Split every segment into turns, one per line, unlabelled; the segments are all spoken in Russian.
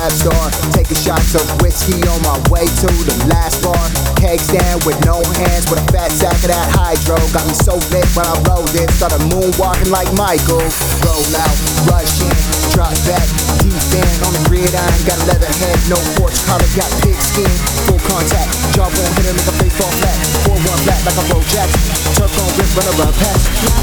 rap star, taking shots of whiskey on my way to the last bar. Keg stand with no hands, with a fat sack of that hydro. Got me so lit when I rolled in, started moonwalking like Michael. Roll out, rush in, drop back, deep in on the gridiron. Got a leather head, no porch collar, got pig skin. Full contact, jaw bone hitter, make a baseball flat. 4-1 flat like a Bo Jackson. Turf on rip, run around pass.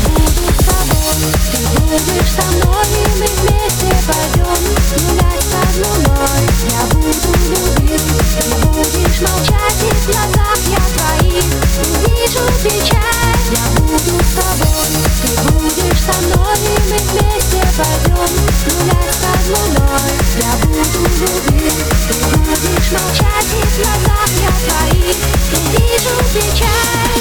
Ты будешь со мной, и мы вместе пойдем гулять под луной. Я буду любить, ты будешь молчать, и в глазах я твоих увижу печаль. Я буду с тобой, ты будешь со мной, и мы вместе пойдем гулять под луной. Я буду любить, ты будешь молчать, и в глазах я твоих увижу печаль.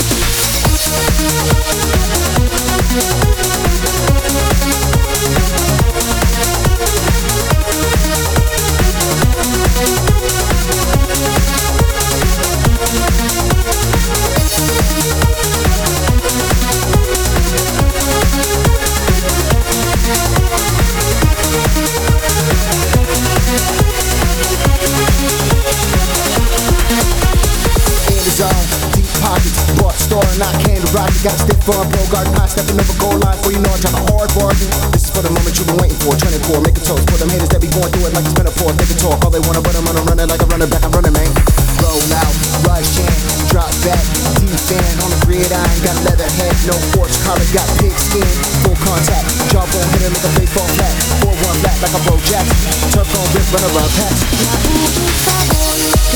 Deep pockets, bought store and I came to rock it. Got a stiff arm, pro garden high, stepping over goal line for you know I drop a hard bargain. This is for the moment you've been waiting for. 24, make a toast for them haters that be going through it like it's been a force. They can talk all they wanna, but I'm gonna run it like a running back. I'm running, man. Roll out, rush in, drop back, deep in on the gridiron. Got a leather head, no porch collar, got pig skin. Full contact, jaw bone hitter, make a baseball flat. 4-1 flat like a Bo Jackson. Turf on rip, run around pass.
Я буду с тобой.